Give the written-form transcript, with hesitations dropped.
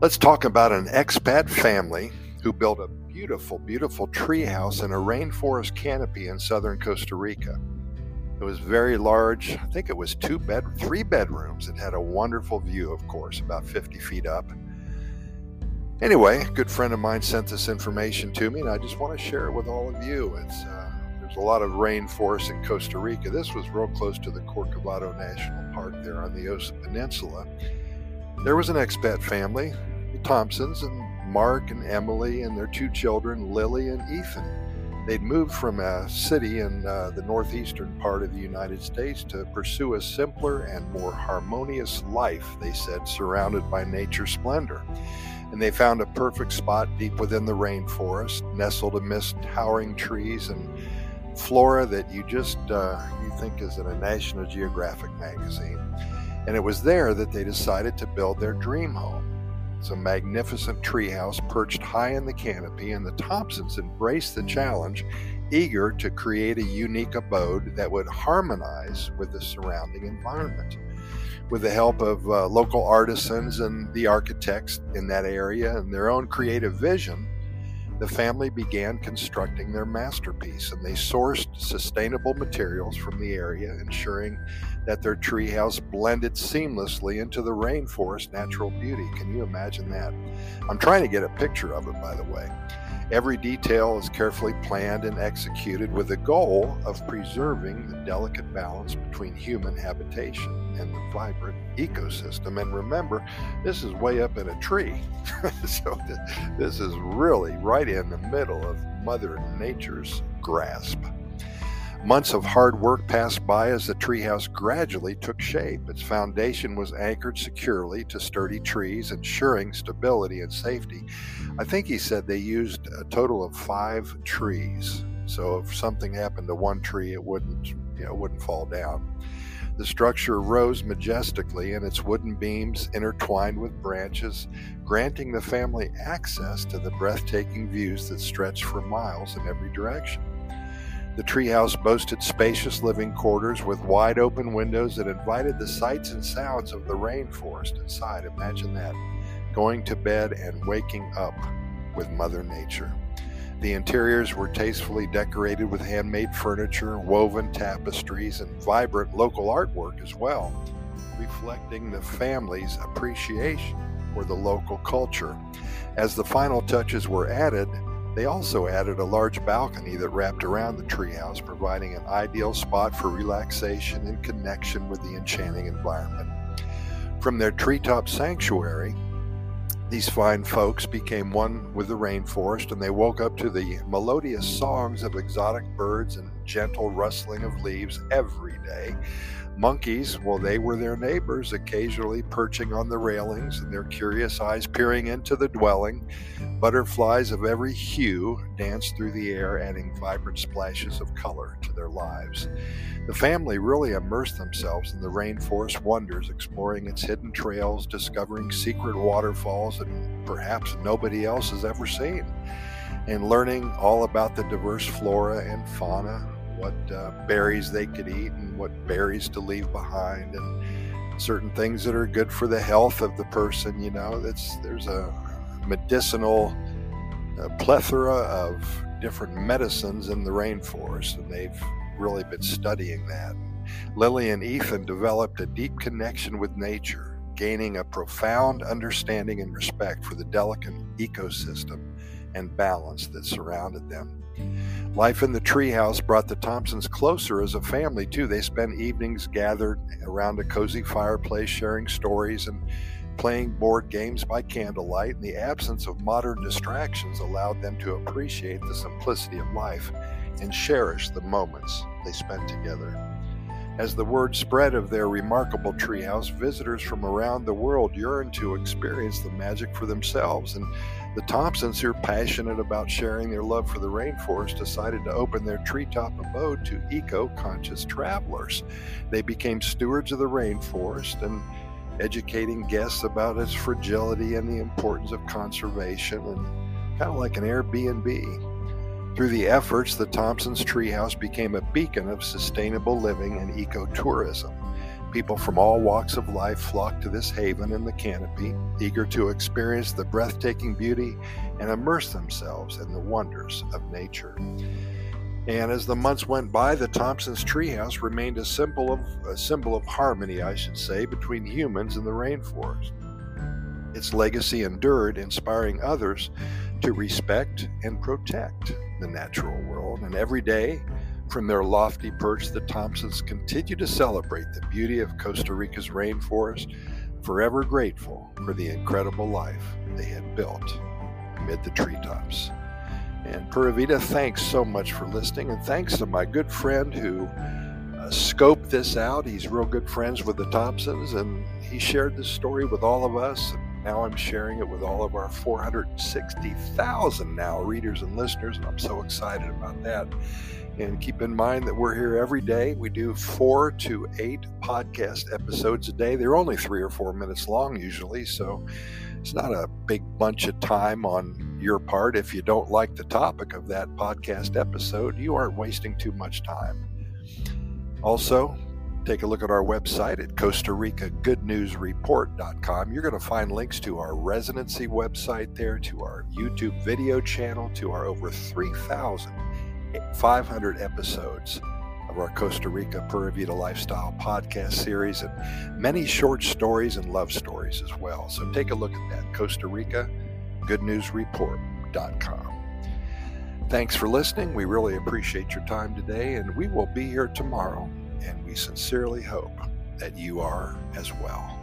Let's talk about an expat family who built a beautiful, beautiful treehouse in a rainforest canopy in southern Costa Rica. It was very large. I think it was three bedrooms. It had a wonderful view, of course, about 50 feet up. Anyway, a good friend of mine sent this information to me, and I just want to share it with all of you. There's a lot of rainforest in Costa Rica. This was real close to the Corcovado National Park there on the Osa Peninsula. There was an expat family, the Thompsons, and Mark and Emily and their two children, Lily and Ethan. They'd moved from a city in the northeastern part of the United States to pursue a simpler and more harmonious life, they said, surrounded by nature's splendor. And they found a perfect spot deep within the rainforest, nestled amidst towering trees and flora that you think is in a National Geographic magazine. And it was there that they decided to build their dream home. It's a magnificent treehouse perched high in the canopy, and the Thompsons embraced the challenge, eager to create a unique abode that would harmonize with the surrounding environment. With the help of local artisans and the architects in that area and their own creative vision, the family began constructing their masterpiece, and they sourced sustainable materials from the area, ensuring that their treehouse blended seamlessly into the rainforest natural beauty. Can you imagine that? I'm trying to get a picture of it, by the way. Every detail is carefully planned and executed with the goal of preserving the delicate balance between human habitation and the vibrant ecosystem. And remember, this is way up in a tree. So this is really right in the middle of Mother Nature's grasp. Months of hard work passed by as the treehouse gradually took shape. Its foundation was anchored securely to sturdy trees, ensuring stability and safety. I think he said they used a total of 5 trees. So if something happened to one tree, it wouldn't fall down. The structure rose majestically, and its wooden beams intertwined with branches, granting the family access to the breathtaking views that stretched for miles in every direction. The treehouse boasted spacious living quarters with wide open windows that invited the sights and sounds of the rainforest inside. Imagine that, going to bed and waking up with Mother Nature. The interiors were tastefully decorated with handmade furniture, woven tapestries, and vibrant local artwork as well, reflecting the family's appreciation for the local culture. As the final touches were added, they also added a large balcony that wrapped around the treehouse, providing an ideal spot for relaxation and connection with the enchanting environment. From their treetop sanctuary, these fine folks became one with the rainforest, and they woke up to the melodious songs of exotic birds and gentle rustling of leaves every day. Monkeys, well, they were their neighbors, occasionally perching on the railings and their curious eyes peering into the dwelling. Butterflies of every hue danced through the air, adding vibrant splashes of color to their lives. The family really immersed themselves in the rainforest wonders, exploring its hidden trails, discovering secret waterfalls that perhaps nobody else has ever seen, and learning all about the diverse flora and fauna, what berries they could eat and what berries to leave behind, and certain things that are good for the health of the person. There's a medicinal plethora of different medicines in the rainforest, and they've really been studying that. Lily and Ethan developed a deep connection with nature, gaining a profound understanding and respect for the delicate ecosystem and balance that surrounded them. Life in the treehouse brought the Thompsons closer as a family, too. They spent evenings gathered around a cozy fireplace, sharing stories and playing board games by candlelight, and the absence of modern distractions allowed them to appreciate the simplicity of life and cherish the moments they spent together. As the word spread of their remarkable treehouse, visitors from around the world yearned to experience the magic for themselves, and the Thompsons, who are passionate about sharing their love for the rainforest, decided to open their treetop abode to eco-conscious travelers. They became stewards of the rainforest and educating guests about its fragility and the importance of conservation, and kind of like an Airbnb. Through the efforts, the Thompsons' treehouse became a beacon of sustainable living and ecotourism. People from all walks of life flock to this haven in the canopy, eager to experience the breathtaking beauty and immerse themselves in the wonders of nature. And as the months went by, the Thompsons' treehouse remained a symbol of harmony, I should say, between humans and the rainforest. Its legacy endured, inspiring others to respect and protect the natural world. And every day, from their lofty perch, the Thompsons continue to celebrate the beauty of Costa Rica's rainforest, forever grateful for the incredible life they had built amid the treetops. And Pura Vida, thanks so much for listening, and thanks to my good friend who scoped this out. He's real good friends with the Thompsons, and he shared this story with all of us. And now I'm sharing it with all of our 460,000 now readers and listeners, and I'm so excited about that. And keep in mind that we're here every day. We do 4 to 8 podcast episodes a day. They're only 3 or 4 minutes long usually, so it's not a big bunch of time on your part. If you don't like the topic of that podcast episode, you aren't wasting too much time. Also, take a look at our website at CostaRicaGoodNewsReport.com. You're going to find links to our residency website there, to our YouTube video channel, to our over 3,500 episodes of our Costa Rica Pura Vida Lifestyle podcast series, and many short stories and love stories as well. So take a look at that, CostaRicaGoodNewsReport.com. Thanks for listening. We really appreciate your time today, and we will be here tomorrow, and we sincerely hope that you are as well.